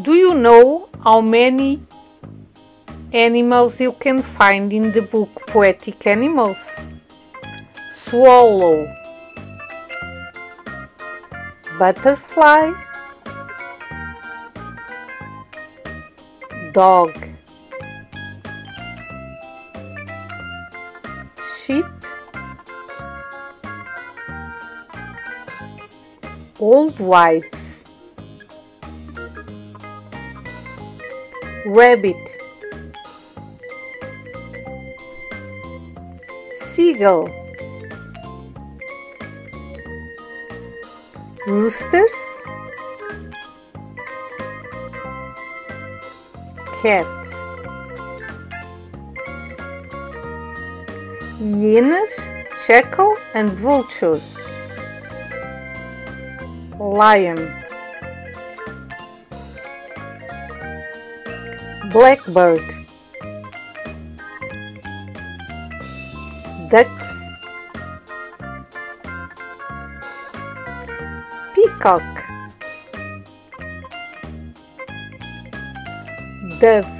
Do you know how many animals you can find in the book Poetic Animals? Swallow, butterfly, dog, sheep, housewives, rabbit, seagull, roosters, cat, hyenas, jackal and vultures, lion, blackbird, ducks, peacock, dove,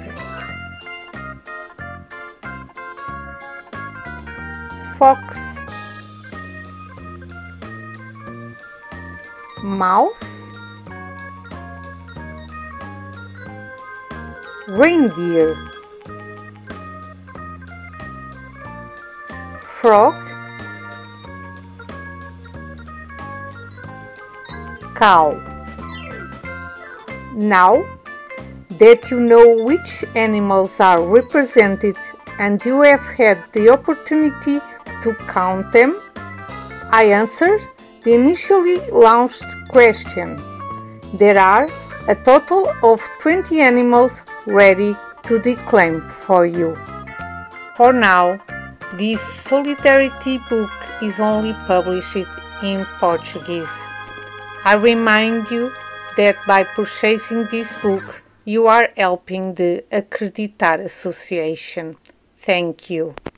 fox, mouse, reindeer, frog, cow. Now that you know which animals are represented and you have had the opportunity to count them, I answered the initially launched question. There are a total of 20 animals ready to declaim for you. For now, this Solidarity book is only published in Portuguese. I remind you that by purchasing this book, you are helping the Acreditar Association. Thank you.